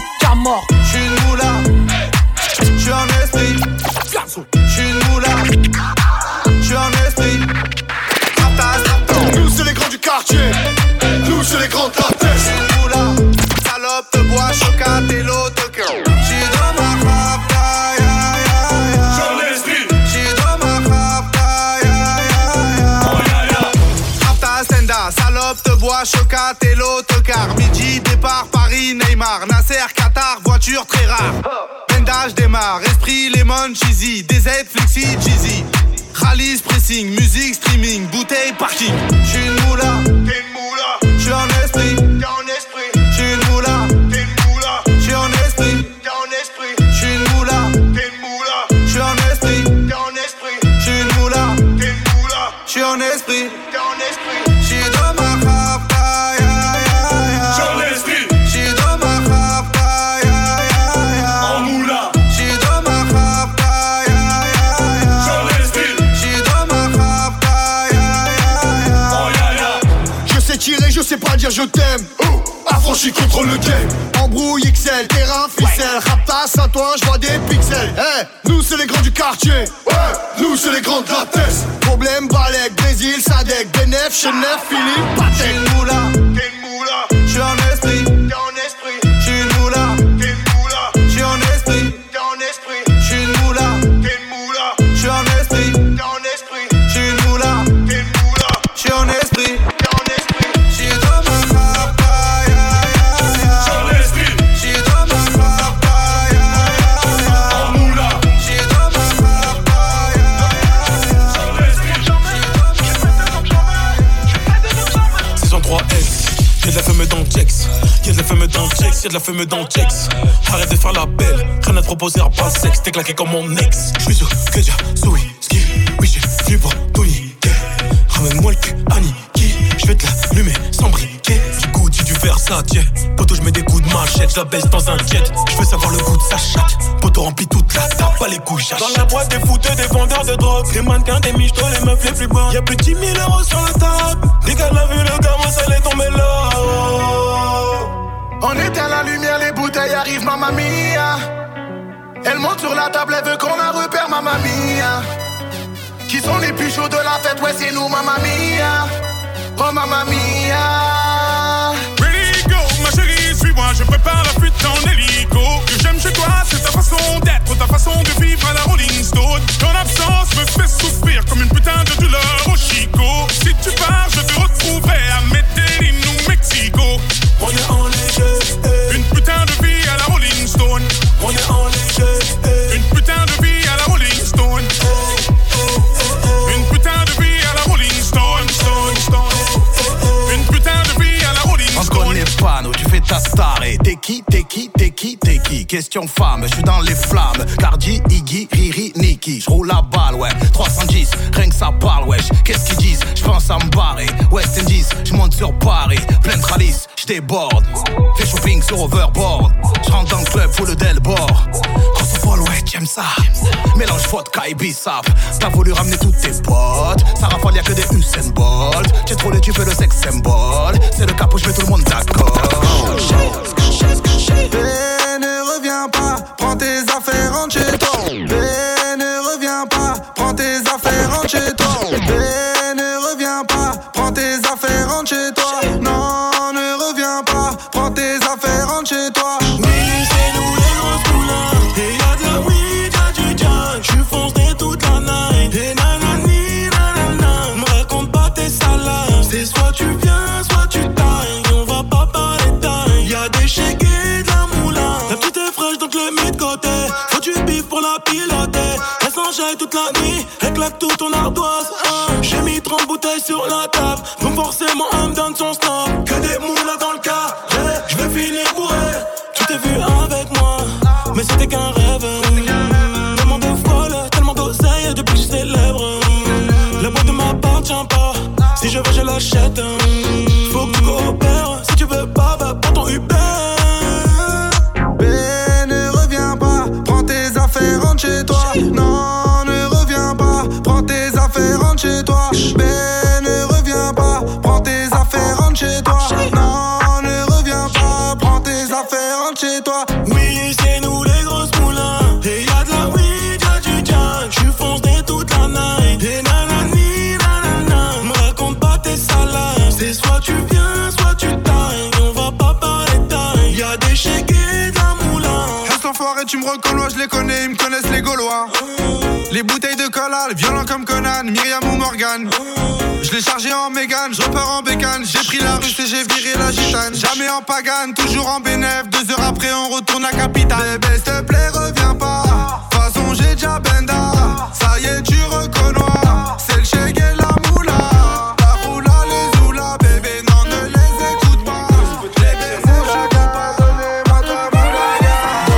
qu'à mort. J'suis une moula, j'suis en esprit. J'suis une moula, j'suis en esprit. Nous c'est les grands du quartier, nous c'est les grands de la tête. J'suis une moula, salope de bois, chocat et l'autocar. J'suis dans ma rapta, ya ya ya. J'en esprit. J'suis dans ma rapta, ya ya ya. Oh ya ya. Rapta, Stenda, salope de bois, chocat et l'autocar. Midi, départ, Paris, Neymar. Nasser, Qatar, voiture très rare. Bendage démarre, esprit, lemon, cheesy. DZ, flexi, cheesy. Rallye, pressing, musique, streaming, bouteille, parking. J'suis une moula, T'es une moula, j'suis en esprit. t'es en esprit. J'suis une moula, T'es une moula, j'suis en esprit. t'es en esprit. J'suis une moula, T'es une moula, j'suis en esprit. t'es en esprit. J'suis une moula, T'es une moula, j'suis en esprit. t'es en esprit. J'suis dans ma rapta, ya ya ya. J'en esprit. J'suis dans ma rapta, ya ya ya. En moula, J'suis dans ma rapta, ya ya ya. j'en esprit. J'suis dans ma rapta, ya ya ya. Oh ya ya. Je sais tirer, je sais pas dire je t'aime. Affranchi contre le game. Embrouille XL, terrain ficelle. Raptas à toi, j'vois des pixels. Hey, nous c'est les grands du quartier. Ouais, nous c'est les grands de la tête. Problème, Balek, Brésil, Sadek, Benef, Chenef, Philippe, J'suis Patek. une moula, T'es une moula, j'suis en esprit. t'es en esprit. J'suis une moula, T'es une moula, j'suis en esprit. t'es en esprit. J'suis une moula, T'es une moula, j'suis en esprit. t'es en esprit. J'suis une moula, T'es une moula, j'suis en esprit. t'es en esprit. J'suis dans ma rapta, ya ya ya. J'en esprit. J'suis dans ma rapta, ya ya ya. En moula, J'suis dans ma rapta, ya ya ya. j'en esprit. Saison 3S, y'a de la femme dans le checks. Y'a de la femme dans le checks, y'a de la femme dans le checks. Arrête de faire la belle, rien à te proposer à pas sexe. T'es claqué comme mon ex. J'suis sûr que j'ai Zoé, ski. Oui, j'ai venu pour tout niquer. Ramène-moi le cul, Aniki. J'vais te l'allumer sans briquet. Du Gucci, du Versace. Poto, j'mets des coups de machette. J'la baisse dans un jet. J'veux savoir le goût de sa chatte. Poto remplit toute la table, pas les couilles, j'achète. Dans la boîte des fouteux, des vendeurs de drogue. Des mannequins, des michtos, les meufs les plus bonnes. Y'a plus de 10 000 euros sur la table. Dès qu'elle a vu le gars, moi ça l'est tombé là. On éteint la lumière, les bouteilles arrivent, mamma mia. Elle monte sur la table, elle veut qu'on la repère, mamma mia. Qui sont les plus chauds de la fête, ouais c'est nous, mamma mia. Oh mamma mia. Ready go, ma chérie, suis-moi, je prépare la fuite en hélico. Que j'aime chez toi, c'est ta façon d'être, ta façon de vivre à la Rolling Stone. Ton absence me fait souffrir comme une putain de douleur au Chico. Si tu pars, je te retrouverai à Medellín ou Mexico. On est en léger, Une putain de vie à la Rolling Stone. on est en léger, Une putain de vie à la Rolling Stone. Une putain de vie à la Rolling Stone, Stone, Stone. Une putain de vie à la Rolling On Stone. connaît pas, nous tu fais ta star et t'es qui, t'es qui, t'es qui, t'es qui. Question femme, je suis dans les flammes. Cardi, Iggy, Riri, Nicki. J'roule la balle, ouais, 310, rien que ça parle, wesh. Qu'est-ce qu'ils disent? J'pense à me barrer. West Indies, j'monte sur Paris. Plein de ralice, j'déborde. Fais shopping sur Overboard. J'rentre dans le club, full d'Elbord. Quand on folle, ouais, j'aime ça. Mélange vodka et bissap. T'as voulu ramener tous tes potes. Ça rafale, y'a que des Usain Bolt. J'ai trop les tubes et le sex symbole. C'est le cap où j'mets tout le monde d'accord. Ne reviens pas, prends tes affaires, rentre chez toi. Ne reviens pas, prends tes affaires, rentre chez toi. Ne reviens pas, prends tes affaires, rentre chez toi. Non, ne reviens pas, prends tes affaires, rentre chez toi. oui, c'est nous les grosses poulains. Et y'a de la weed, y'a du jazz. J'suis foncé toute la night. Et nanani, nanana. Me raconte pas tes salades. C'est soit tu viens, soit tu tailles. On va pas parler taille. Y'a des chèques et de la moulin. La petite est fraîche donc le mets de côté. Faut du bif pour la piloter. Elle s'enjaille toute la nuit. Elle claque tout ton ardoise. J'ai mis 30 bouteilles sur la table. Donc forcément elle me donne son stop. Que des moulins dans le cas. J'vais finir bourré. Tu t'es vu avec moi, mais c'était qu'un rêve. Tellement de folle, tellement d'oseille depuis que je célèbre. La boîte ne m'appartient pas. Si je veux, je l'achète. Faut que tu coopères. Si tu veux pas, va prends ton Uber. Ne reviens pas, prends tes affaires, rentre chez toi. Non, ne reviens pas, prends tes affaires, rentre chez toi. Ne reviens pas, prends tes affaires, rentre chez toi. Non, ne reviens pas, prends tes affaires, rentre chez toi. Oui, c'est nous les grosses moulins. Et y'a de la weed, y'a du jack. J'suis foncé toute la night. Et nanani, nanana. Me raconte pas tes salades. C'est soit tu viens, soit tu tailles. On va pas parler taille. Y'a des chèques et de la moulin. Reste enfoiré, tu me reconnais, je les connais, ils me connaissent les Gaulois. Les bouteilles de collal, violents comme Conan, Myriam ou Morgan. Je l'ai chargé en Mégane, je repars en bécane. J'ai pris la russe et j'ai viré la gitane. Jamais en pagane, toujours en bénéf. 2 heures après on retourne à Capitale. Bébé s'il te plaît reviens pas. De toute façon j'ai déjà benda. Ça y est tu reconnais. C'est le chèque et la moula. La moula les oula. Bébé non ne les écoute pas. Les baisers chacun pas. Donnez-moi de la moulaga.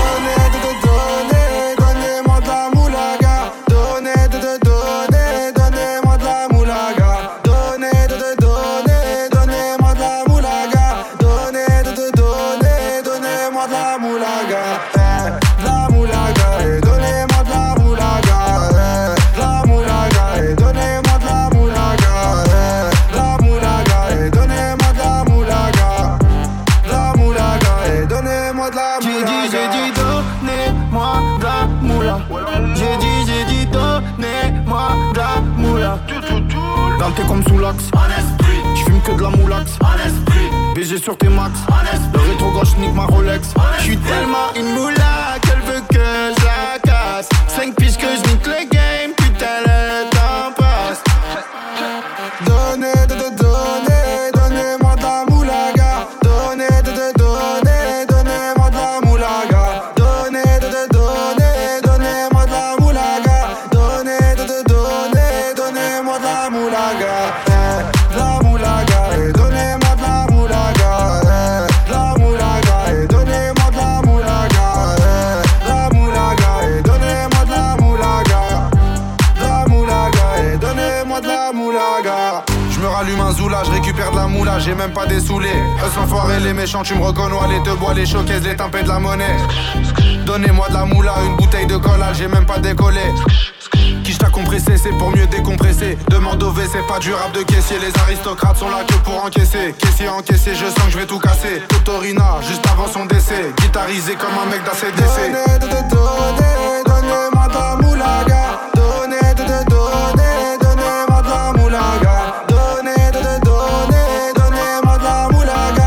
Donnez-moi de la moulaga. Donnez-moi de la moulaga. Donnez-moi de la moulaga. Donnez-moi de la moulaga. De la moulaga. Et donnez-moi de la moulaga. De la moulaga. Et donnez-moi de la moulaga. De la moulaga. Et donnez-moi de la moulaga. De la moulaga. Et donnez-moi de la moulaga. J'ai dit donnez-moi de la moula. J'ai dit donnez-moi de la moula. Dalté comme sous l'axe. Tu fumes que de la moulax. BG sur tes max. Le rétro gauche nique ma Rolex. J'suis tellement une moula qu'elle veut que je la casse. 5 piges que je nique le game. Putain le temps passe. Donnez-moi de la moulaga. Donnez-moi de la moulaga. Donnez-moi de la moulaga. Donnez-moi de la moulaga. De la moulaga. Et donnez-moi de la moulaga. De la moulaga. Et donnez-moi de la moulaga. De la moulaga. Et donnez-moi de la moulaga. De la moulaga. Et donnez-moi de la moulaga. Je me rallume un zoula, je récupère de la moula, j'ai même pas dessoulé. Eux sont forés, les méchants, tu me reconnais, les te bois, les showcases, les timpés de la monnaie. Donnez-moi de la moula, une bouteille de collage, j'ai même pas décollé. Qui t'a compressé, c'est pour mieux décompresser. Demande au V, c'est pas du rap de caissier. Les aristocrates sont là que pour encaisser. Caissier encaissé, je sens que je vais tout casser. Totorina, juste avant son décès. Guitarisé comme un mec d'ACDC. Donnez-moi de la moulaga. Donnez-moi de la moulaga. Donnez-moi de la moulaga.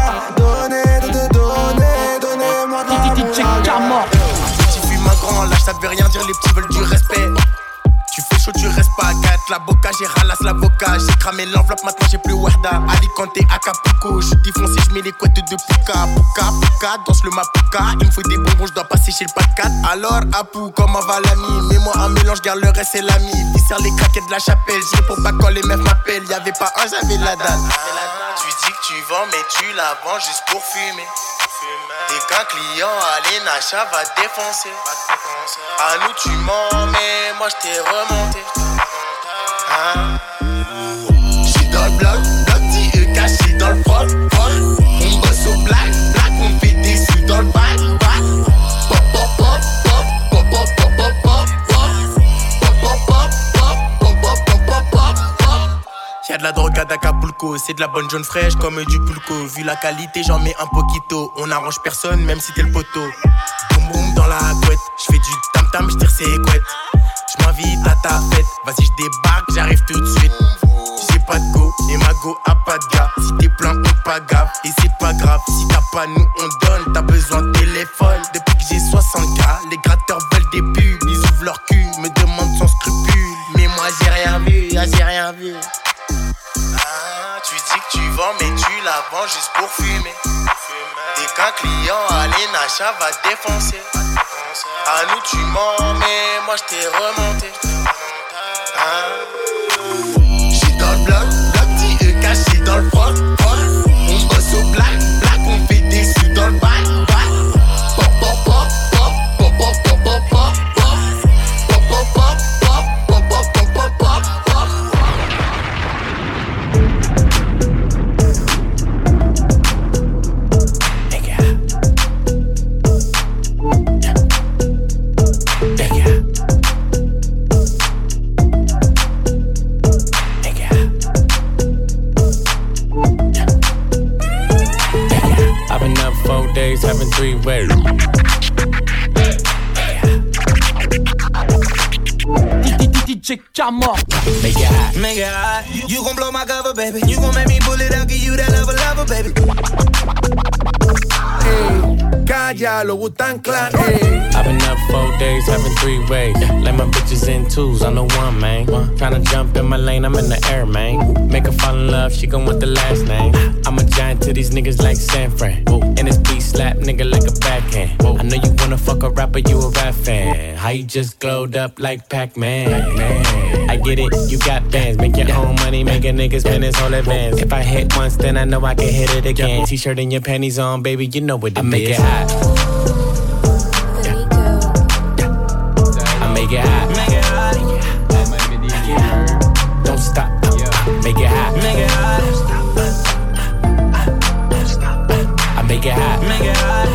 Donnez-moi de la moulaga. Petit fume un grand, lâche ça veut rien dire, les petits veulent du respect. Tu fais chaud, tu restes pas à 4. La boca, j'ai ralasse l'avocat. J'ai cramé l'enveloppe, maintenant j'ai plus Warda. Alicante, Acapulco. J'suis défoncé, j'mets les couettes de Puka. Puka, danse le mapuka. Il me faut des bonbons, j'dois passer chez le pas de 4. Alors, Apou, comment va l'ami? Mets-moi un mélange, garde le reste, c'est l'ami. Dissert les craquettes de la chapelle. Je réponds pas quand les meufs m'appellent. Y'avait pas un, j'avais la dalle. Tu dis que tu vends, mais tu la vends juste pour fumer. Dès qu'un client à l'Enacha va défoncer. À nous tu mens, mais moi je t'ai remonté. J'suis dans le bloc, petit caché dans le froc. On bosse au black, on fait des sous dans le bac. Pop, pop, pop, pop, pop, pop, pop, pop, pop, Y'a de la drogue à d'Acapulco, c'est de la bonne jaune fraîche comme du pulco. Vu la qualité, j'en mets un poquito. On arrange personne, même si t'es le poteau. Boum boum dans la couette, j'fais du tam tam, j'tire ses couettes. J'm'invite à ta fête, vas-y j'débarque, j'arrive tout de suite. J'ai pas de go, et ma go a pas de gars. Si t'es plein, on pas gaffe, et c'est pas grave. Si t'as pas, nous on donne, t'as besoin de téléphone. Depuis que j'ai 60K, les gratteurs veulent des pubs. Ils ouvrent leur cul, me demandent sans scrupule. Mais moi j'ai rien vu, j'ai rien vu. Tu dis que tu vends, mais tu la vends juste pour fumer. Dès qu'un client à l'Enacha va défoncer. À nous tu mens, mais moi je t'ai remonté. J'suis dans le bloc, petit caché dans le froc. On bosse au black, on fait des sous dans le bac. Pop, pop, pop, pop, pop, pop, pop, pop, pop. Pop, pop, pop, pop, pop, pop, pop, pop, pop. DJ Camor. Make it hot. Make it hot. You gon' blow my cover, baby. You gon' make me pull it out, give you that lover, baby. Hey, Calla, Wu-Tang Clan. Hey. I've been up 4 days, having 3 ways. Like my bitches in twos, I'm the one, man. Tryna jump in my lane, I'm in the air, man. Make her fall in love, she gon' want the last name. I'm a giant to these niggas like San Fran. And this beat slap nigga like a backhand. I know you wanna fuck a rapper, you a rap fan. How you just glowed up like Pac-Man? I get it, you got bands. Make your own money, make a nigga spend his whole advance. If I hit once, then I know I can hit it again. T-shirt and your panties on, baby, you know what it is. I make it hot. I make it hot. Make it hot. Don't stop. Make it hot. Make it hot. I make it hot. Make it hot.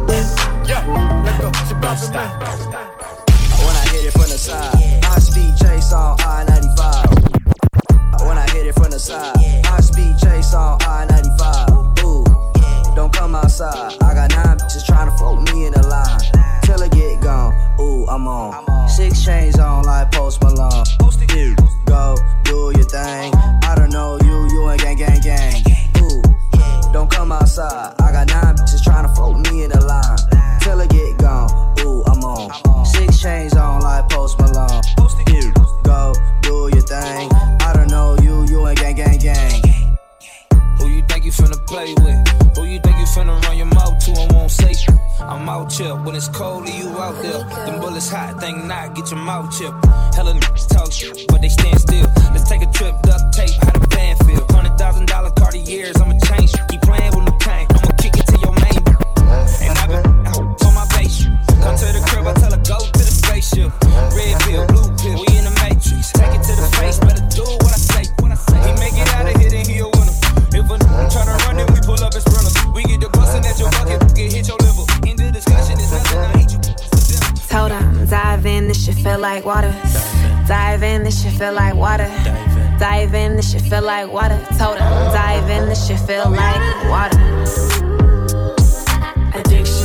Don't stop. When I hit it from the side, high speed chase on I-95. When I hit it from the side, high speed chase on I-95. Ooh, don't come outside. I got 9 bitches tryna fuck me in the line. Till I get gone, ooh, I'm on. 6 chains on like Post Malone. Go, do your thing. I don't know you ain't gang. Ooh, don't come outside. I got 9 bitches tryna fuck me in the line. Till I get gone, ooh, I'm on. 6 chains on like Post Malone. Go, do your thing. I don't know you ain't gang. Who you think you finna play with? Who you think you finna run your mouth to and won't say shit? I'm out chill when it's cold, you out there. Them bullets hot, think not, get your mouth chipped. Hella niggas talk shit, but they stand still. Let's take a trip, duct tape, how the band feel. $100,000 Cartiers, I'ma change. Keep playing with the tank, I'ma kick it to your main. And I've been on my base. Come to the crib, I tell her go to the spaceship. Red pill, blue pill, we in the matrix. Take it to the face, better do what I say. He make it out of here, then he a winner. If a try to run it, we pull up and sprinters. We get the bustin' at your bucket, get hit your liver. In the discussion, it's nothing, I hate you. Told him, dive in, this shit feel like water. Dive in, this shit feel like water. Dive in, this shit feel like water. Told him, dive in, this shit feel like water. Addiction.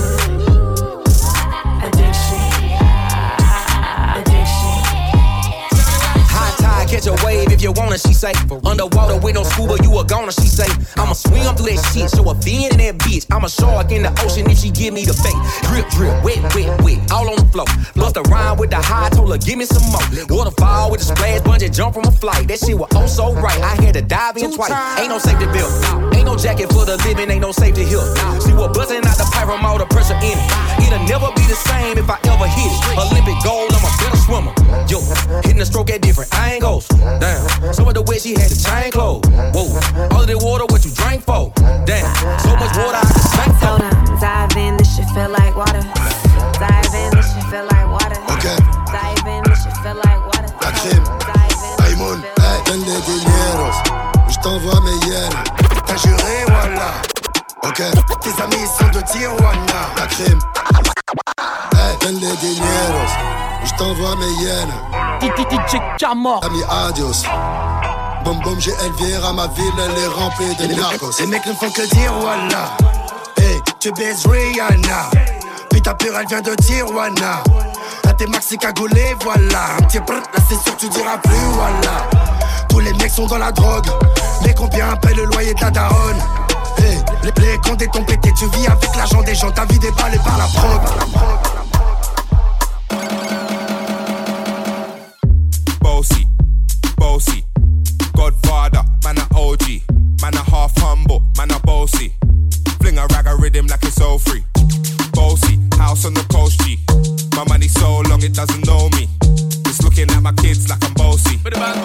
Catch a wave if you wanna, she say. Underwater with no scuba, you a goner, she say. I'ma swim through that shit, show a fin in that bitch. I'm a shark in the ocean if she give me the bait. Drip, drip, wet, all on the floor. Bust a rhyme with the high, told her give me some more. Waterfall with a splash, bungee jump from a flight. That shit was oh so right, I had to dive in twice. Ain't no safety belt, ain't no jacket for the living, ain't no safety here. She was busting out the pipe from all the pressure in it. It'll never be the same if I ever hit it. Olympic gold, I'm a better swimmer. Yo, hitting the stroke at different angles. Damn, some of the way she had the chain closed. Whoa, all of the water, what you drank for? Damn, so much water I can spank for. Dive in, this shit feel like water. Dive in, this shit feel like water. Ok. Dive in, this shit feel like water. La crime. Aïmoun, hey, donne des dineros. J't'envoie mes yens. T'as juré, voilà. Ok. Tes amis sont de Tijuana. La crime. Hey, donne des dineros. J't'envoie mes yens. DJ Camor. Ami, adios. Boum boum, j'ai Elvira, ma ville, elle est remplie de narcos. Les mecs ne font que dire voilà. Hey, tu baises Rihanna. Puis ta pure, elle vient de Tijuana. Là t'es maxi cagoulé, voilà. Un petit brrr, là c'est sûr tu diras plus voilà. Tous les mecs sont dans la drogue. Mais combien paye le loyer de la daronne? Hey, les comptes t'ont pété, tu vis avec l'argent des gens. Ta vie déballée par la prog. Bossy, Godfather, man a OG, man a half humble, man a bossy. Fling a rag a rhythm like it's all free. Bossy, house on the coast G. My money so long it doesn't know me. It's looking at my kids like I'm bossy.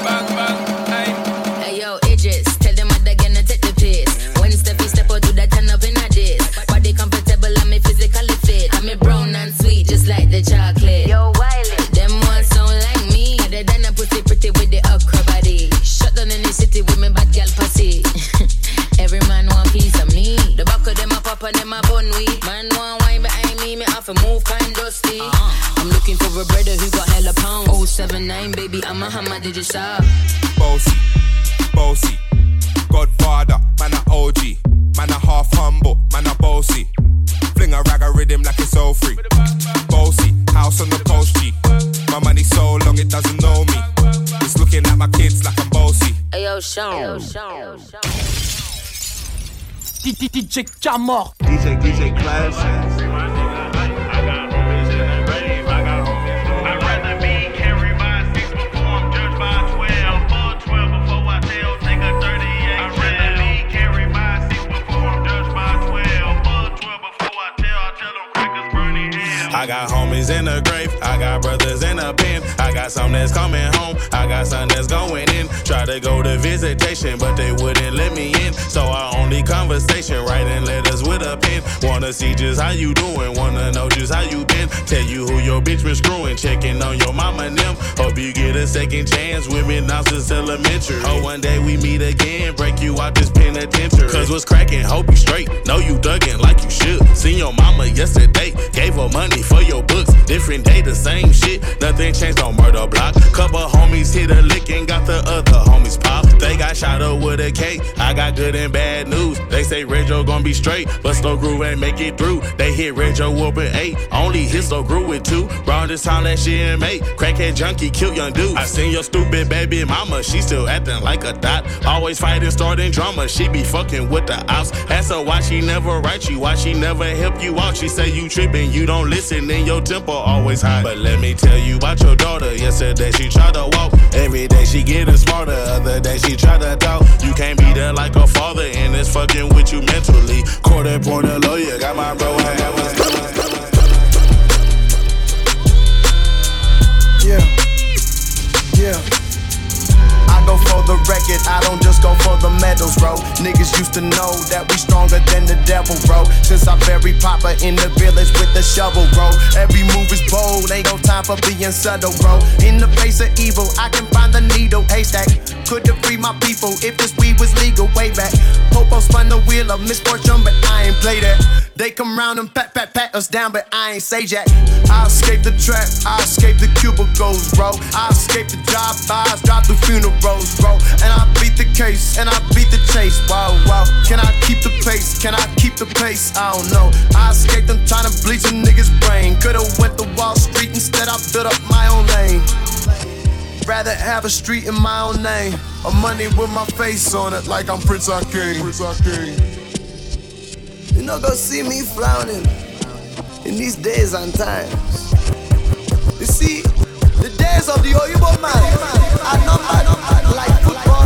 Hey yo, Idris, tell them what they're gonna take the piss. When Steffi step out, do that turn up in a diss. Body comfortable, I'm physically fit. I'm a brown and sweet, just like the chocolate. Yo, Wiley, them ones sound like me. Other than a pussy pretty with the okra body. Shut down in the city with me bad girl pussy. Every man want piece of me. The back of them a pop and them a bun weed. Man want wine behind me have to move kind dusty. I'm looking for a brother who got hella pounds. 079 baby, I'm a hammer, did you stop? Bossy, Godfather, man a OG, man a half humble, man a bossy. Fling a rag a rhythm like it's all free. Bossy, house on the coast G. My money so long it doesn't know me. It's looking at my kids like I'm bossy. Ayo, Sean. DJ Camor. DJ Classic. I got homies in the grave, I got brothers in the pen. I got some that's coming home, I got some that's going in. Try to go to visitation, but they wouldn't let me in. So our only conversation, writing letters with a pen. Wanna see just how you doing, wanna know just how you been. Tell you who your bitch been screwing, checking on your mama and them. Hope you get a second chance with me now since elementary. Oh, one day we meet again, break you out this penitentiary. Cause what's cracking, hope you straight, know you dugging like you should. Seen your mama yesterday, gave her money for your books. Different day, the same shit. Nothing changed on murder block. Couple homies hit a lick and got the other homies pop. They got shot up with a K. I got good and bad news. They say Reggio gon' be straight, but Slow Groove ain't make it through. They hit Reggio up with 8. Only hit Slow Groove with 2. Round this time that shit in May. Crackhead junkie killed young dude. I seen your stupid baby mama. She still acting like a dot. Always fighting, starting drama. She be fucking with the ops. Ask her why she never write you. Why she never help you out. She say you tripping, you don't listen, and your temper always high. But let me tell you about your daughter. Yesterday she tried to walk. Every day she getting smarter. Other day she try to talk. You can't be there like a father, and it's fucking with you mentally. Court appointed lawyer. Got my bro Yeah. I go for the record, I don't just go for the medals, bro. Niggas used to know that we stronger than the devil, bro. Since I buried Papa in the village with the shovel, bro. Every move is bold, ain't no time for being subtle, bro. In the face of evil, I can find the needle haystack. Could've freed my people if this weed was legal way back. Popo spun the wheel of misfortune, but I ain't play that. They come round and pat us down, but I ain't say jack. I escaped the trap, I escaped the cubicles, bro. I escaped the drive-bys, drive through funerals, bro. And I beat the case, and I beat the chase, wow. Can I keep the pace, can I keep the pace? I don't know. I escaped them trying to bleach a nigga's brain. Could've went to Wall Street, instead I built up my own lane. Rather have a street in my own name, or money with my face on it, like I'm Prince King. You know, go see me frowning in these days and times. You see, the days of the Oyibo man are numbered like football.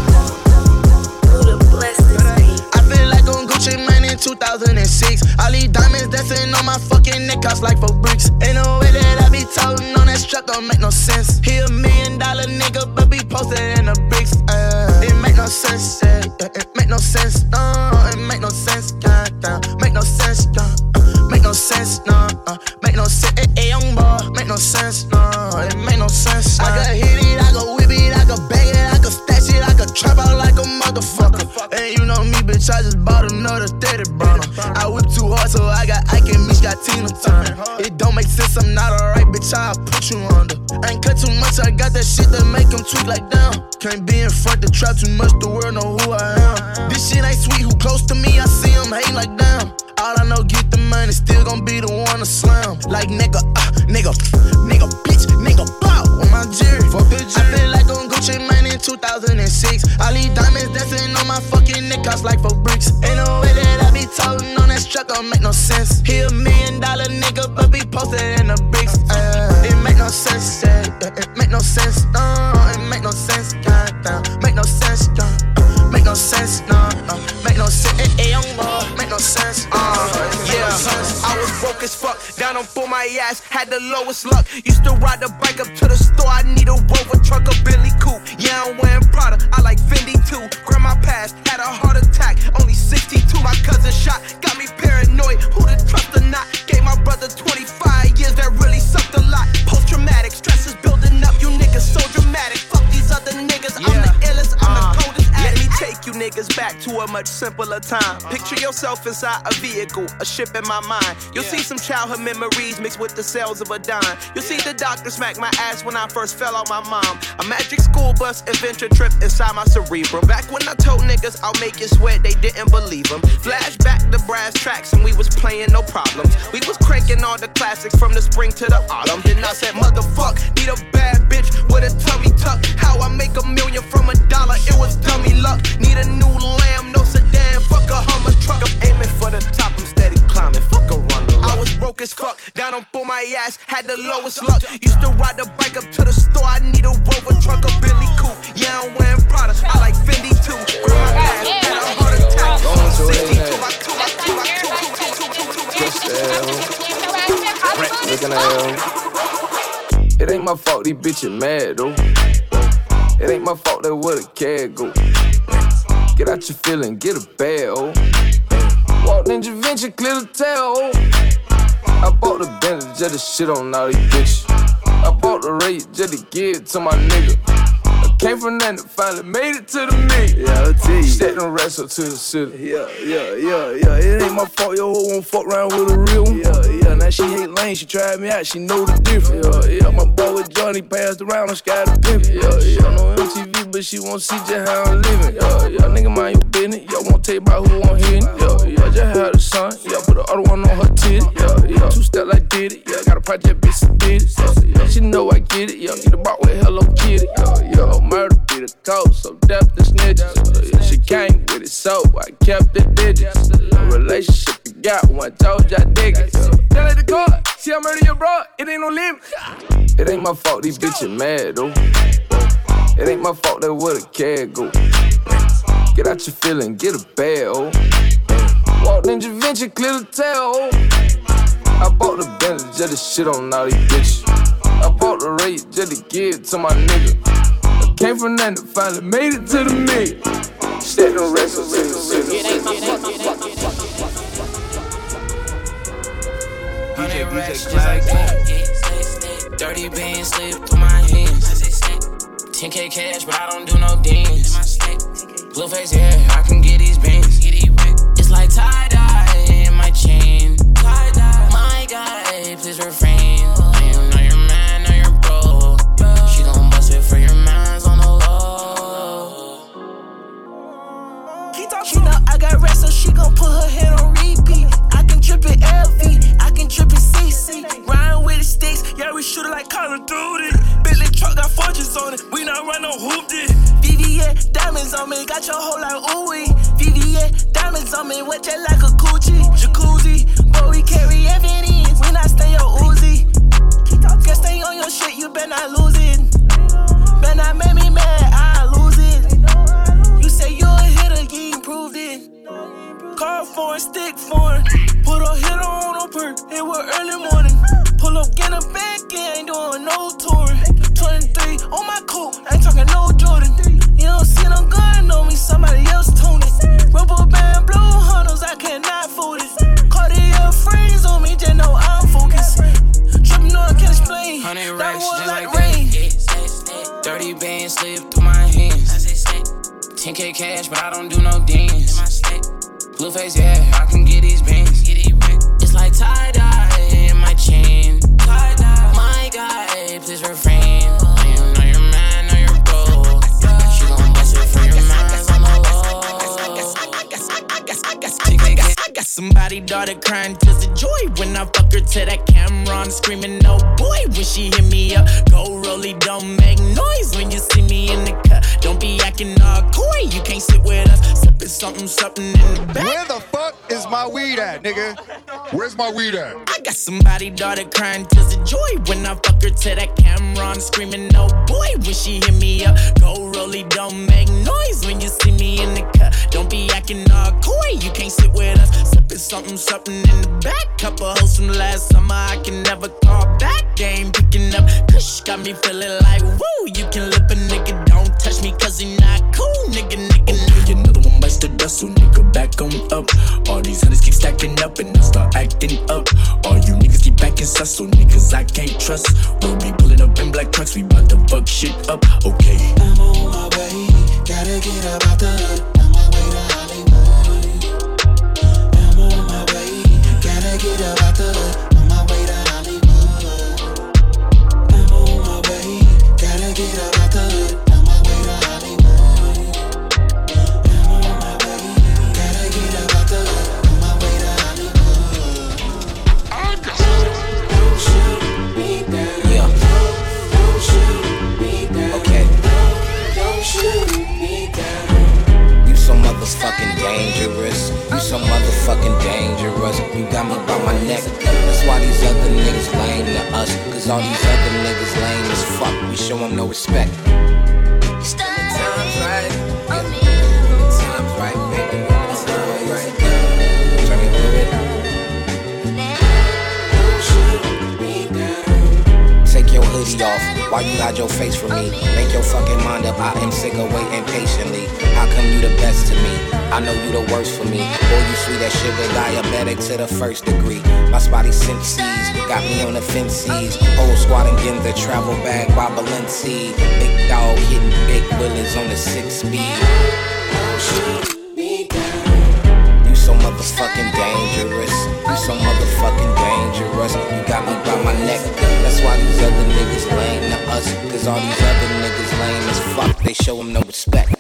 I feel like on Gucci Mane in 2006. I leave diamonds dancing on my fucking neck, cost like 4 bricks. Ain't no way that I be toting on that strap, don't make no sense. He $1 million nigga, but be posted in the bricks. It make no sense, it make no sense, no. It make no sense, make no sense, make no sense, no. Make no sense, young boy, make no sense, no. It make no sense. I could hit it, I could whip it, I could bang it, I could stash it, I could trap out like a motherfucker. And you know me, bitch, I just bought another 30 burner. I whip too hard, so I got Ike and Mitch got Tina Turner. It don't make sense, I'm not alright, bitch, I'll put you under. I ain't cut too much, I got that shit that make them tweak like down. Can't be in front, the trap too much, the world know who I am. This shit ain't sweet, who close to me, I see them hating like damn. All I know, get the money, still gon' be the one to slam. Like nigga, bitch, nigga, bow on my jerry. Fuck the jerry. I feel like on Gucci Mane in 2006. I leave diamonds dancing on my fucking neck, cost like 4 bricks. Ain't no way that I be toting on that strap, don't make no sense. He $1 million nigga, but be posted in the bricks. It make no sense, it make no sense, no. It make no sense, make no sense, make no sense, no. Make no sense, young boy, make no sense, yeah. I was broke as fuck, down on for my ass, had the lowest luck. Used to ride the bike up to the store, I need a Rover truck, a Billy Coupe. Yeah, I'm wearing Prada, I like Fendi too. Grandma passed, had a heart attack, only 62. My cousin shot, got me paranoid, who to trust or not. Gave my brother 25 years, that really sucked a lot. Post-traumatic, stress is building up, you niggas so dramatic. Fuck these other niggas, I'm the illest, I'm the coldest. Let me take you niggas back to a much simpler time. Picture yourself inside a vehicle, a ship in my mind. You'll see some childhood memories mixed with the cells of a dime. You'll see the doctor smack my ass when I first fell on my mom. A magic school bus adventure trip inside my cerebrum. Back when I told niggas I'll make you sweat, they didn't believe them. Flashback to brass tracks and we was playing no problems. We was cranking all the classics from the spring to the autumn. Then I said, motherfuck, need a bad bitch with a tummy tuck. How I make $1 million from $1, it was dummy luck. Need a new lamb, no sedan, fuck a Hummer truck. I'm aiming for the top, I'm steady climbing, fuck a runner. I was broke as fuck, down on for my ass, had the lowest luck. Used to ride the bike up to the store, I need a Rover truck, a Billy Coupe. Yeah, I'm wearing Prada, I like Fendi too. Grab my ass, had a heart attack. 62, Looking at him. It ain't my fault these bitches mad though. It ain't my fault that where the cat go. Get out your feeling, get a bag, oh. Walk Ninja Venture, clear the tail, oh. I bought the Bentley just to shit on all these bitches. I bought the Ray just to give it to my nigga. I came from nothing, finally made it to the million. Yeah, I'll tell you. Set them rest up to the city. Yeah. It ain't my fault your hoe won't fuck around with a real one. Yeah. Now she hate lane, she tried me out, she know the difference. Yeah. My boy with Johnny passed around on Sky the Pimp. Yeah. No MTV, but she won't see just how I'm living. Yeah. Nigga mind your business. Y'all won't tell you about who I'm hitting. Yeah. Just had a son. Yeah. Put the other one on her titty. Yeah. 2 step like did it. Yeah. Got a project bitch did it. Yeah. She know I get it. Yeah. Get a box with Hello Kitty. Yeah. Murder be the code, so death the snitches. She came with it, so I kept the digits. A relationship you got when I told you I dig it. Tell her the court, see I murder your bro, it ain't no limit. It ain't my fault these bitches mad though. It ain't my fault that where the cat go. Get out your feeling, get a bag, oh. Walk Ninja Venture, clear the tail, oh. I bought the Bentley just to shit on all these bitches. I bought the Ray just to give it to my nigga. Came from nothing, finally made it to the million. Set them rest up to the city. DJ Class. Dirty beans slip through my hands. 10K cash, but I don't do no dance. Blue face, yeah, I can get these bands. It's like tie-dye in my chain. My guy, please refrain. She know I got rest, so she gon' put her head on repeat. I can trip it LV, I can trip it CC. Riding with the sticks, yeah, we shoot it like Call of Duty. Bentley truck got fortunes on it, we not run no hoop this. VVS, diamonds on me, got your whole like ooey. VVS, diamonds on me, wet jet like a coochie. Jacuzzi, but we carry evidence, we not stay your Uzi. Can't stay on your shit, you better not lose it. Better not make me mad, I lose it. You say you a hitter, you ain't proved it. Car foreign, stick foreign. Put a hitter on a perk, it was early morning. Pull up, get a back, ain't doing no touring. 23 on my coat, ain't talking no Jordan. You don't see no gun on me, somebody else tuned it. Rubber band, blue hunters, I cannot fool it. Cartier frames on me, just know I'm focused. Tripping on, I can't explain. 100 racks, just like rain. 30 bands slip through my hands. 10K cash, but I don't do no dance. Blue face, yeah, I can get these bands. It's like tie-dye in my chain. My guy, please refrain. Know you're mad, know you're broke. She gon' bust it for your minds on the low. I got somebody daughter crying just a joy when I fuck her to that camera. I'm screaming, no boy, when she hit me up. Go rolly, don't make noise when you see me in the cut. Don't be acting all coy, you can't sit with us. Sipping something in the back. Where the fuck is my weed at, nigga? Where's my weed at? I got somebody daughter crying just a joy when I fuck her to that camera. I'm screaming, no boy, when she hit me up. Go rolly, don't make noise when you see me in the cut. Don't be acting all coy, you can't sit with us. Sipping something in the back. Couple hoes from last summer I can never call back. They ain't picking up. Kush got me feeling like woo. You can lip a nigga, don't touch me cause he not cool. Nigga. Another one bites the dust, so nigga back on up. All these hunters keep stacking up and I start acting up. All you niggas keep backing sus, so niggas I can't trust. We'll be pulling up in black trucks, we bout to fuck shit up, okay. I'm on my way, gotta get up out the hood. On my way to Hollywood. get up out the hood, on my way to Hollywood. I'm on my way, gotta get up out the hood, on my way to Hollywood. I'm on my way, gotta get up out the hood, on my way to Hollywood. Don't shoot me down. Yeah. Don't shoot me down. Okay. Don't shoot me down. You so motherfucking dangerous. You so motherfucking dangerous. You got me by my neck. That's why these other niggas lame to us. Cause all these other niggas lame as fuck. We show them no respect. Time's right. Time's right, baby. Time's right. Turn it through it. Take your hoodie off while you hide your face from me. Make your fucking mind up. I am sick of waiting patiently. How come you the best to me? I know you the worst for me. Boy, you sweet as sugar, diabetic to the first degree. My spotty senses got me on the fences. Whole squad again the travel bag by Balenci. Big dog hitting big willies on the 6-speed. You so motherfucking dangerous. You so motherfucking dangerous. You got me by my neck. That's why these other niggas lame to us. Cause all these other niggas lame as fuck. They show them no respect.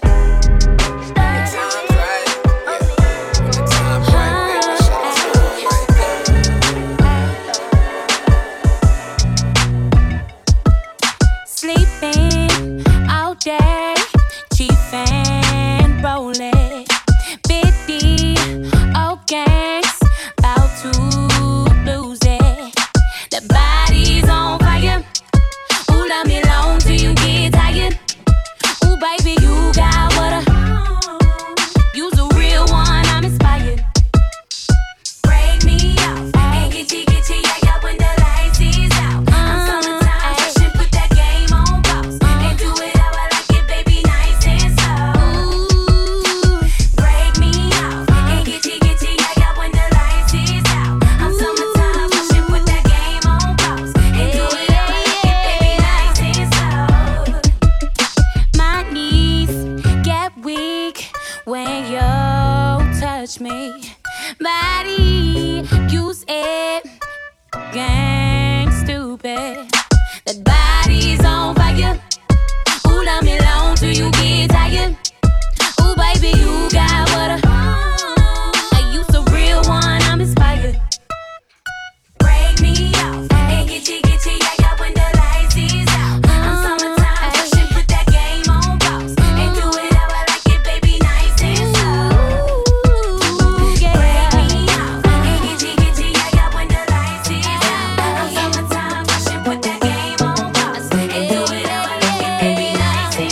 Sleeping all day, chiefin', rollin', bitty, old gangs, bout to lose it. The body's on fire. Ooh, let me alone till you get tired. Ooh, baby, you got what you's a real one, I'm inspired. Break me off and get you, yeah, when the lights is out. I'm summertime, fashion, put that game on pause. And do it how I like it, baby, nice and slow. Break me off and get you, yeah, when the lights is out. I'm summertime, fashion, put that game on pause. And do it how I like it, baby, nice and slow. My knees get weak when you touch me. Body, use it, gang stupid. That body's on fire. Ooh, let me alone till you get tired. Ooh, baby, you got what you so real one, I'm inspired. Break me off and get you, yeah, when the lights is out. I'm summertime, fashion, put that game on pause. And do it how I like it, baby, nice and slow. Break me off and get you, yeah, when the lights is out. I'm summertime, fashion, put that game on pause. And do it how I like it, baby, nice and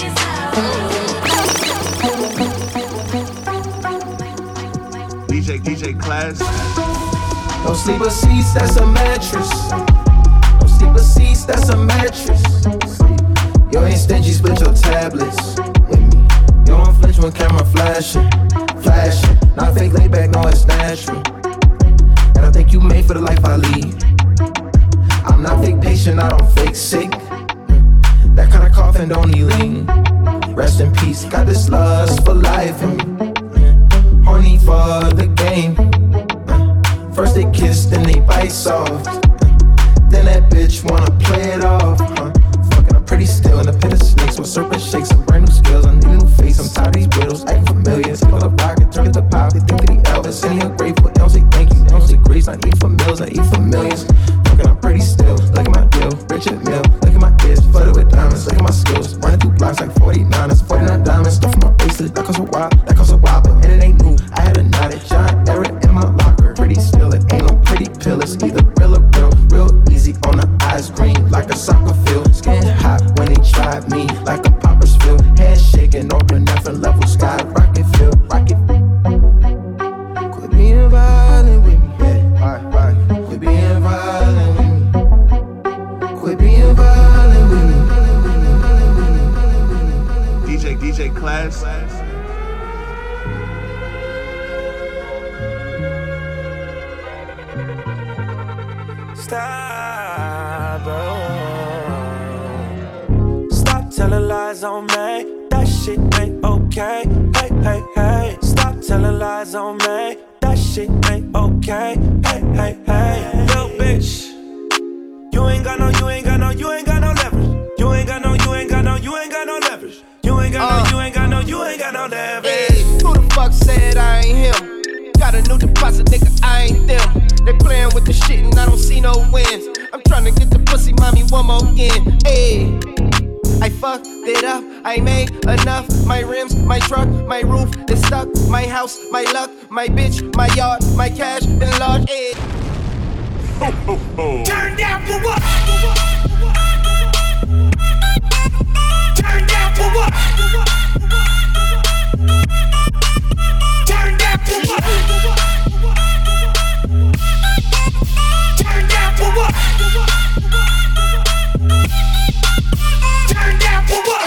slow. DJ Class. No sleeper seats, that's a mattress. No sleeper seats, that's a mattress. You ain't stingy, split your tablets with me. You don't flinch when camera flashing. Not fake laid back, no, it's natural. And I think you made for the life I lead. I'm not fake patient, I don't fake sick. That kind of coughing don't need lean. Rest in peace, got this lust for life in me. Horny for the game. First they kiss, then they bite soft. Then that bitch wanna play it off. Fucking, I'm pretty still in the pit of snakes with serpent shakes and brand new skills. I need a new face, I'm tired of these riddles, acting familiar. Take all the rock and turn it to pop. They think that he Elvis, and he ungrateful. They don't say thank you, they don't say grace. I eat for meals, I eat for millions. Fucking, I'm pretty still. Look at my deal, Richard Mill. Look at my ears, flooded with diamonds. Look at my skills, running through blocks like 49. That's 49 diamonds. Stuff in my bracelet, that costs a while, but it ain't new. I had a knot at John Eric in my locker. Pretty still, it ain't no pretty pill. It's either real or real easy on the eyes, green like a soccer field. Skin hot when they tried me, like a popper's field. Head shaking, open different level, sky rocket feel, rocket. Quit being violent with me, yeah. Quit being violent with me. Quit being violent with me. DJ Class. Stop telling lies on me. That shit ain't okay. Hey, hey, hey. Stop telling lies on me. That shit shit ain't okay. Hey, hey, hey, little bitch. You ain't got no leverage. You ain't got no leverage. You ain't got no leverage. You ain't got no leverage. Hey, who the fuck said I ain't him? Got a new deposit, nigga, I ain't them. They playing with the shit and I don't see no wins. I'm tryna get the pussy, mommy, one more again. Hey, I fucked it up, I made enough. My rims, my truck, my roof is stuck. My house, my luck, my bitch, my yard, my cash enlarged. Hey. Turn down for what? Turn down for what? Turn down for what? Turn down for what? Turn down for what?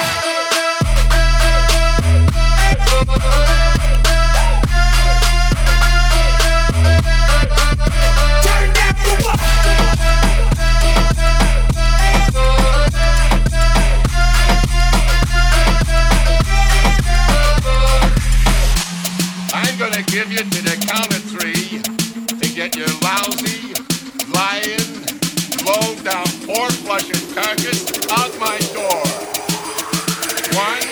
Give you to the count of 3 to get your lousy, lying, low down pork flushing carcass out my door. 1,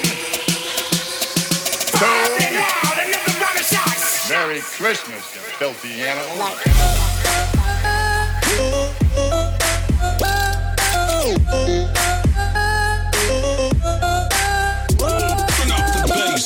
2. Merry Christmas, you filthy animal. Turn up the bass.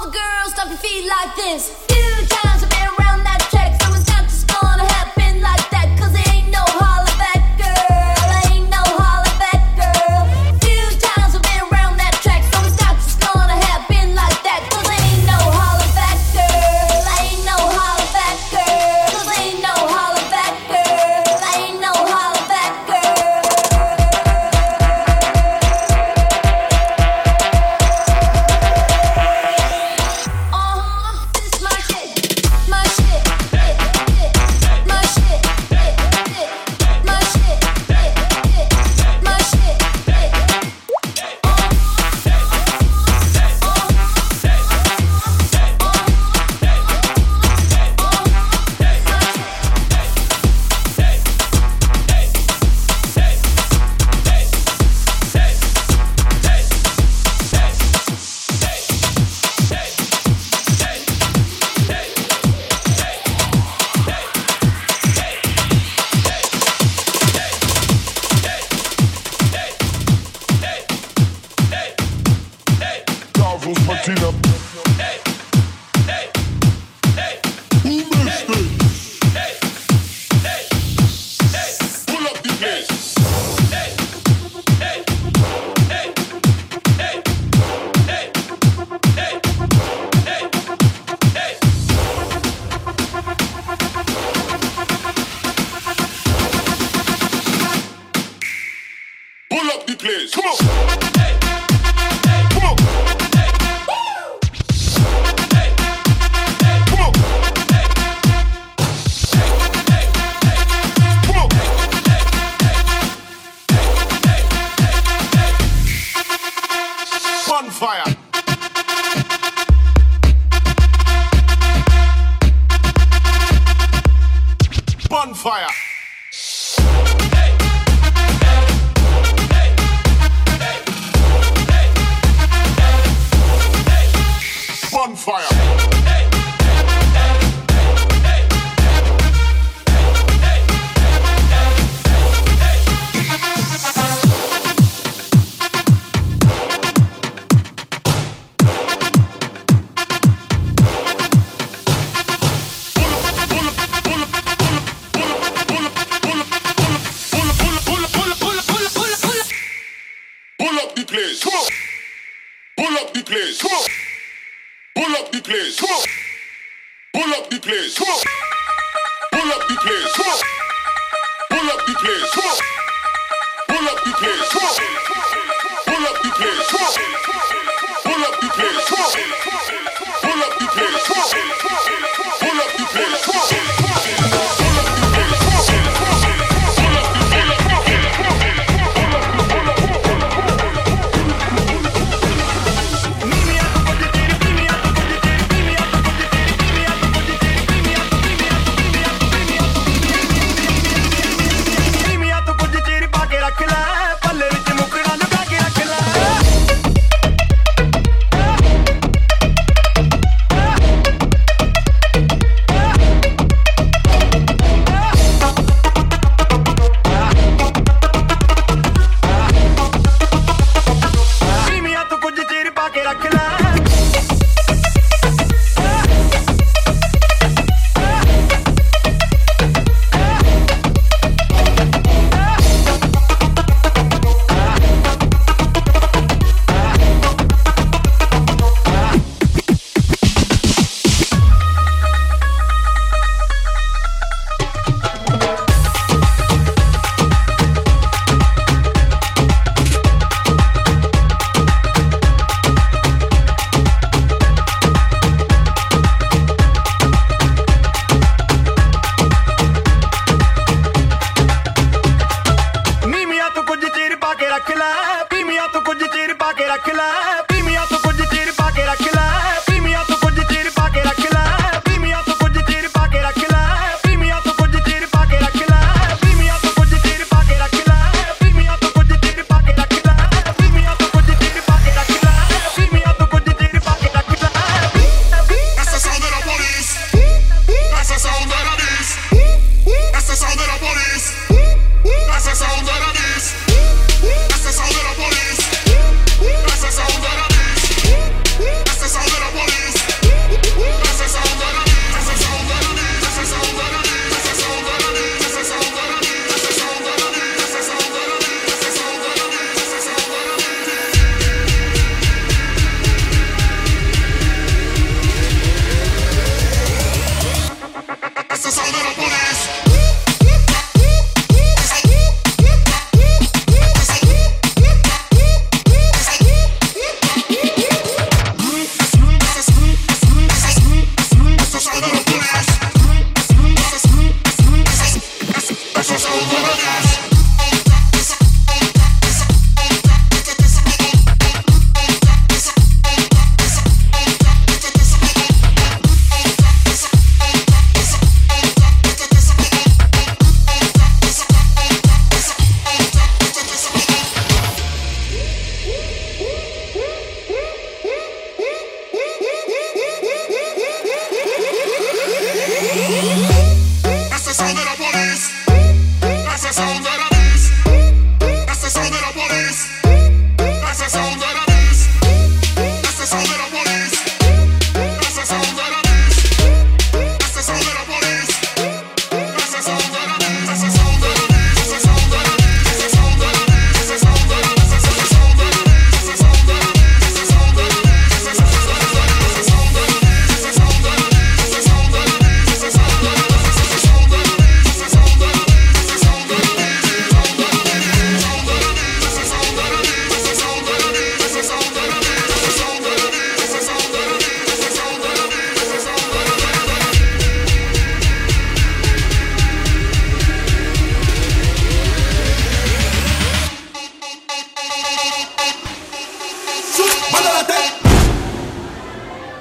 All the girls, stop your feet like this. Few times I've been around that track, so it's not just gonna happen like that. Cause there ain't no holler back, girl. Ain't no holler back, girl. Few times I've been around that track, so it's not just gonna happen like that. Cause there ain't no holler back, girl. Ain't no holler back, girl. Cause there ain't no holler back, girl. Ain't no holler back, girl.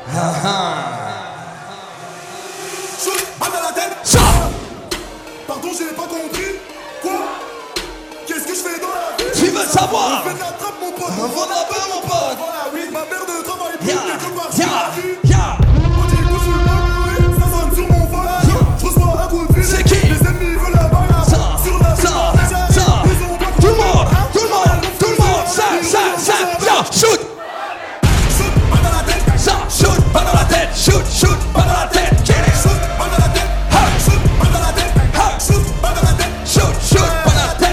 Shoot, balle dans la tête. Pardon, j'ai pas compris. Quoi? Qu'est-ce que je fais dans la vie? Tu veux savoir? On fait de la trappe, mon pote. On va là-bas, mon pote. Voilà, oui, ma mère ne travaille plus quelque part. Yeah. On dit que je suis pas doué, ça sonne sur mon vol. Je reçois un coup de fil. C'est qui? Les ennemis veulent la balle. Sur la Tout le monde, ça, shoot. Shoot, balle dans la tête. Ça, shoot, balle dans la tête. Shoot, balle dans la tête. Get it. Shoot, balle dans la tête. Shoot, balle dans la tête. Shoot, balle dans la tête. Shoot, balle dans la tête.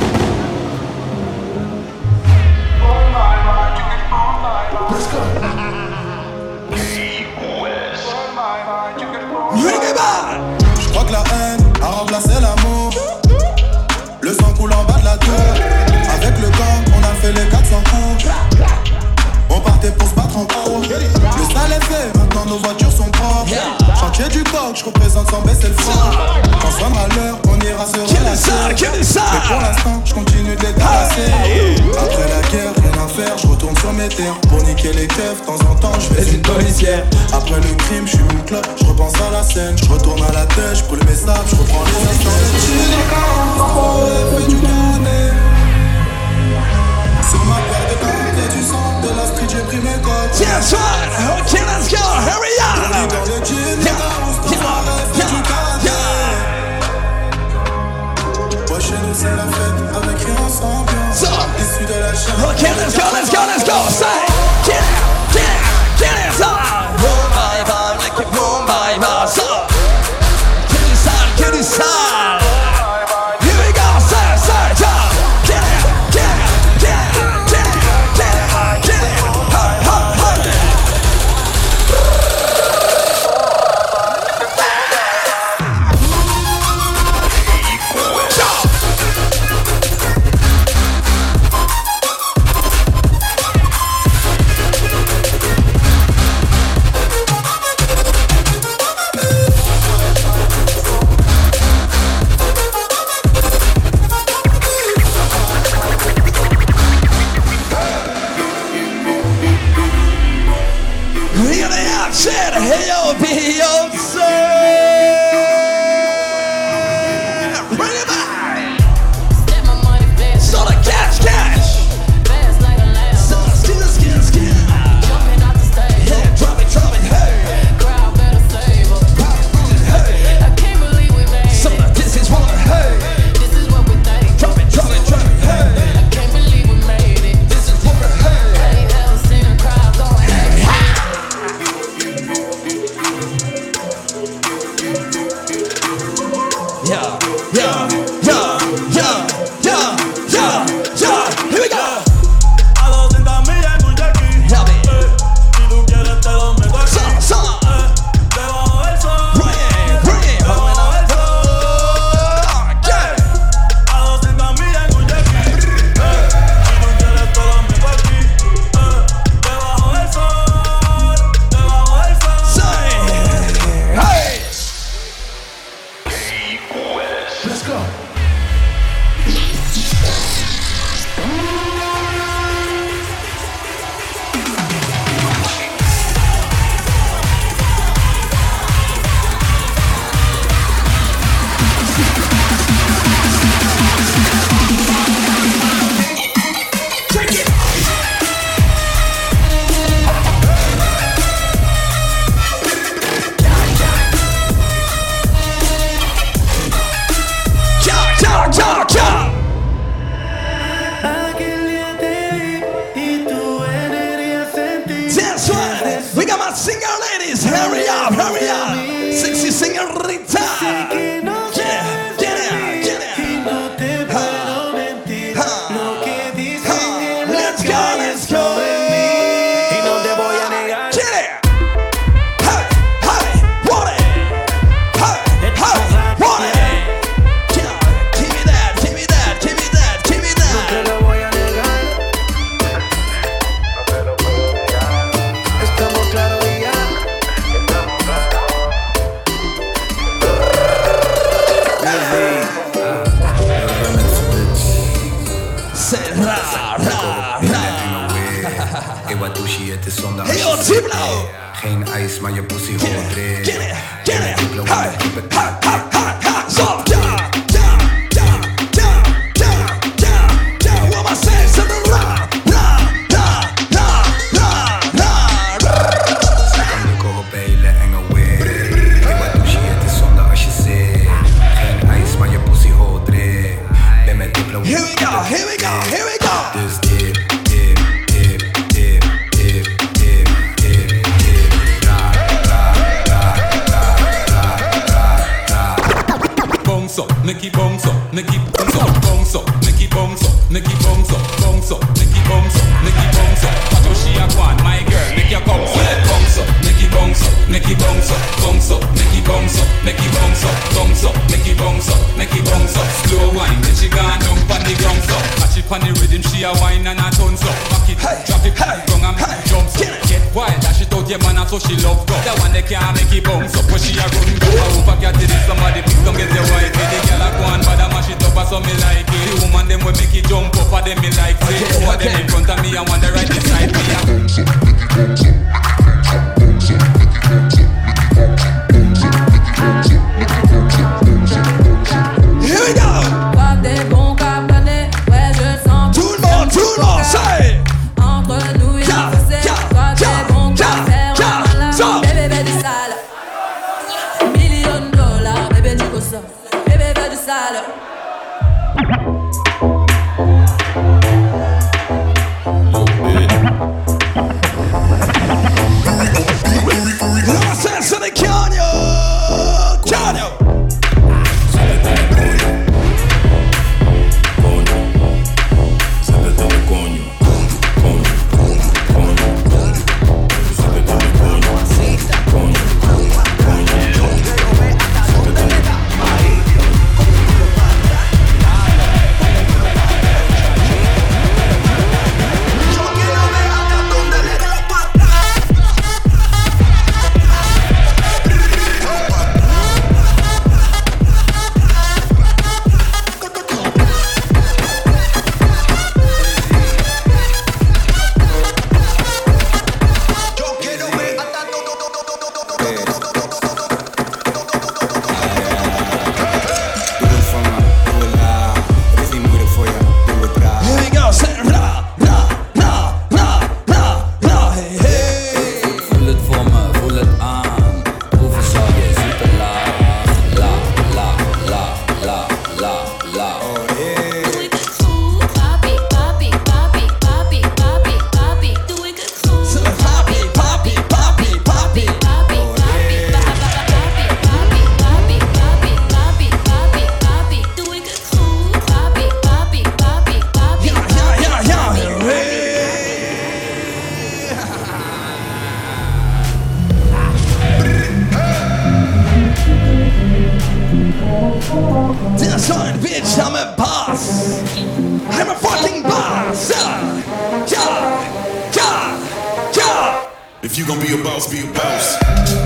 Je crois que la haine a remplacé l'amour. Le sang coule en bas de la tour. Avec le gang, on a fait les 400 coups. On partait pour se battre en cours. Le sale est fait, maintenant nos voitures sont propres. Chantier du coq, je représente sans baisser le front. Quand sonnera l'heure, on ira se relaxer. Mais pour l'instant, je continue de les tasser. Après la guerre, rien à faire, je retourne sur mes terres. Pour niquer les keufs, de temps en temps, je fais une policière. Après le crime, je suis une clope, je repense à la scène. Je retourne à la tête, je brûle mes sables, je reprends les instants. Fais du tourner. Sur ma paire de cordes et du sang de la street, j'ai pris mes codes. That's right. Okay, let's go. Hurry up. Dans le jean, les house, dans ma rêve, fais du karaté. Ouais, chez nous c'est la fête, avec rien sans ambiance. Issu de la chaîne. Okay, let's go. Say, get it. Boom, bye, bye, like it, boom, bye, bye. So, get inside. Here we go. Say, jump. Get it. Here they are, said, hey yo, Beyonce. Bring it back. So the cash. So skin. Jumping out the stage. Yeah, drop it, hey. Crowd better save us. Hey. I can't believe we made So it. this is what, hey. This is what we think. Drop it, hey. I can't believe we made it. This is what, hey. I ain't ever seen a crowd going hey. Yeah. Here we go. A 200 millas en un jackie. Si tú quieres te lo meto aquí. Debajo del sol. Debajo del sol. A 200 millas en un jackie. Si tú quieres te lo meto aquí. Debajo del sol. Debajo del sol. Hey. Let's go. Cha. Aquel día te vi y tu energía sentí. That's right. We got my singer ladies. Hurry up. Sexy señorita. Let's go. Y no te voy a negar. Get it. Hey, want it. Hey, want it. Give me that. No te lo voy a negar. Estamos claros y ya. Geen ijs, maar je pussy hoort erin. Get it, hey, so, what am I saying? So the Ze kan lukken op hele enge weer. Hey, wat doe je? Het is zonde als je zit. Geen ijs, maar je pussy hoort erin. Ben met Diplo. Here we go, here we go, here we go. Dus dip. Nicky bounce up, Nicky bounce up, bounce up, Nicky bounce up, Nicky bounce up, bounce up, Nicky bounce up, Nicky bounce up. Watch how she a go on, my girl, make your bounce up, bounce up, Nicky bounce up, Nicky bounce up, bounce up, Nicky bounce up, Nicky bounce up, bounce up, Nicky bounce up, Nicky bounce up. Slow wine, then she gone down pon the ground so. Catch it pon the rhythm, she a wine and a tons up. Back it, drop it, ground and make it jump up. Get wild, dash it out your man and so she love go. That one they can't make it bounce up, when she a run go. I hope I get it, somebody please come get your wife. Go on, but I mash it up, so me like it. The woman them will make it jump up, and them me like it. Two of them in front of me, and one the right beside me. Here we go. Tout le monde, say. Entre nous, il a fait toi t'es bon qu'à faire un malin. Bébé, bébé du sale. $1,000,000, bébé du cossa. Bébé, bébé du sale. Son, bitch, I'm a boss. I'm a fucking boss. If you gon' be a boss, be a boss.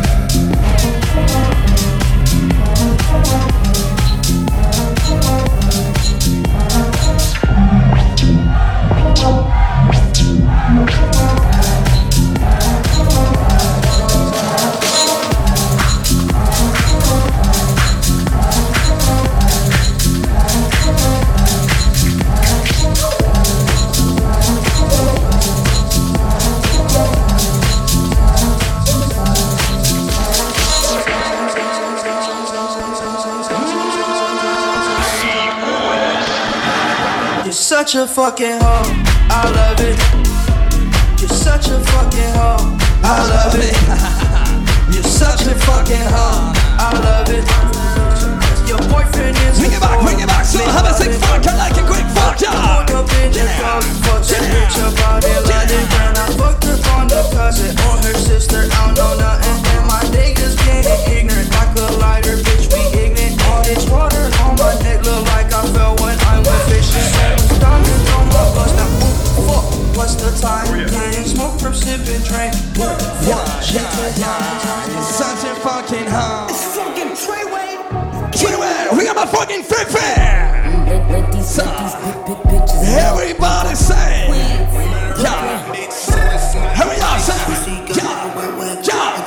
Such a fucking hoe, I love it. You're such a fucking hoe, I love it. You're such a fucking hoe, I love it. Your boyfriend is bring it back, so have a sick fuck, I like a quick fuck, yeah. Woke up in the club, fucked a bitch about it, like it. And I fucked her on the cousin or her sister, I don't know nothing. And my niggas getting ignorant, like a lighter, bitch, we ignorant. All this water on my neck look like I fell when I went fishing. Diamonds on my bust, now fuck, what's the time? Getting smoke from sipping train. You're such a fucking hoe. It's fucking Treyway. We got my fucking fit fan. Everybody say, yeah. Hurry up, say, yeah.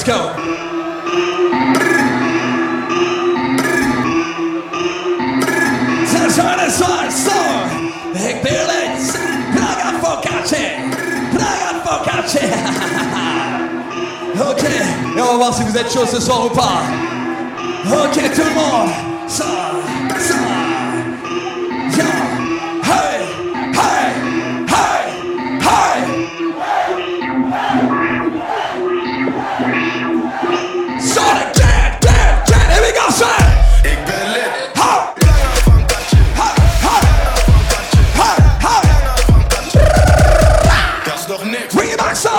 let's go. Zazane zwaar, zo. Ik wil eens. Praga focaccia. Praga focaccia. Ok, et on va voir si vous êtes chaud ce soir ou pas. Ok, tout le monde. Ça, ça. Yeah. Hey, hey, hey, hey. Sonic, get, here we go, son. Ik ben lit. Dat is nog niks. Bring it back, so.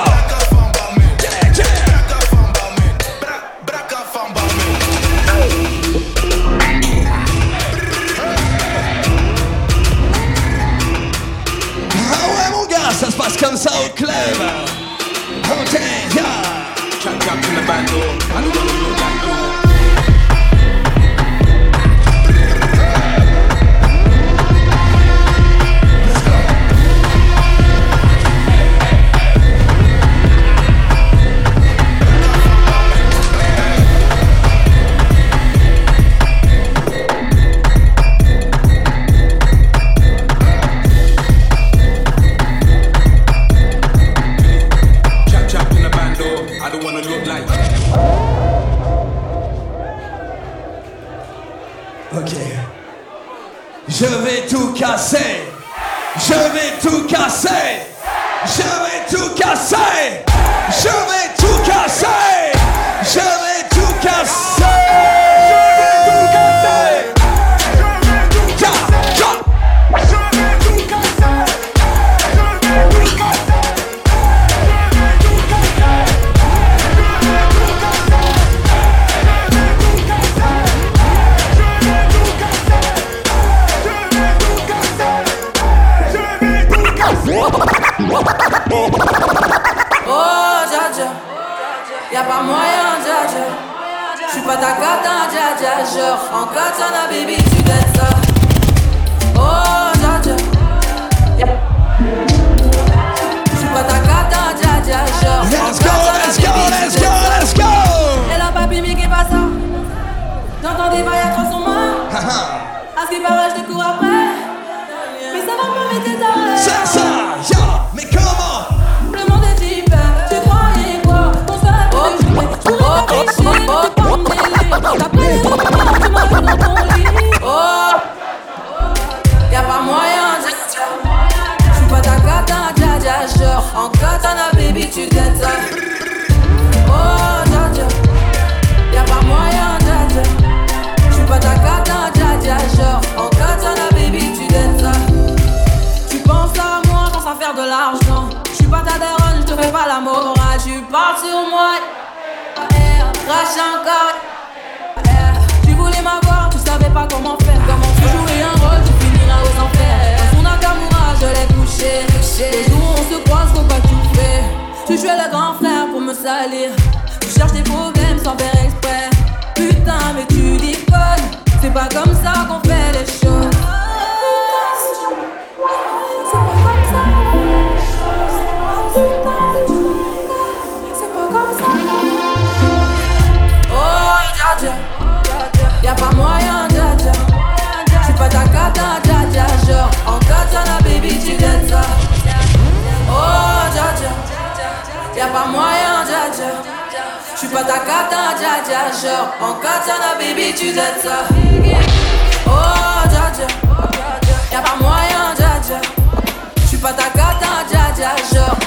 Ça se passe comme ça au club. Ok, yeah. Chop chop in the bando. I don't wanna look like you. Je vais tout casser. Je vais tout casser. Je vais tout casser. Je vais tout casser. Je vais tout casser. Oh, Dja, y'a pas moyen, Dja. J'suis pas ta cata, Dja. Genre, en katana, baby, tu t'aides ça. Oh, Dja, j'suis pas ta cata, Dja. Genre, let's go, let's go, let's go, let's go. Et là, papi, mais qu'est pas ça? J'entends des bails à 300 mains. À ce qui paraît, je te cours après. Mais ça va pas m'aider ta c'est ça, yo, mais comment? Le monde est hyper, tu croyais quoi? Qu'on se fait pour les jouer, je pourrais pas tricher, t'es pas mêlé. D'après les autres, tu m'as vu dans ton lit. Oh, y'a pas moyen, j'suis pas ta cata, Dja. Genre, en katana, baby, tu gâtes ça. Oh, Dja, y'a pas moyen, Dja. J'suis pas ta cata, Dja. Genre, en katana, baby, tu gâtes ça. Tu penses à moi, pense à faire de l'argent. J'suis pas ta daronne, j'te fais pas la morale. Tu parles sur moi, crache encore. Tu voulais m'avoir, tu savais pas comment faire. Comment tu jouais un rôle, tu finiras aux enfers. Dans son Nakamura, je l'ai couché. Les jours où on se croise, faut pas que tu fais. Tu jouais le grand frère pour me salir. Tu cherches des problèmes sans faire exprès. Putain, mais tu déconnes. C'est pas comme ça qu'on fait les choses. Y'a pas moyen, Dja. J'suis pas ta cata, Dja. Genre, en katana, baby, tu gâtes ça. Oh, Dja. Y'a pas moyen, Dja. J'suis pas ta cata, Dja. Genre, en katana, baby, tu gâtes ça. Oh, Dja. Y'a pas moyen, Dja. J'suis pas ta cata, Dja. Genre,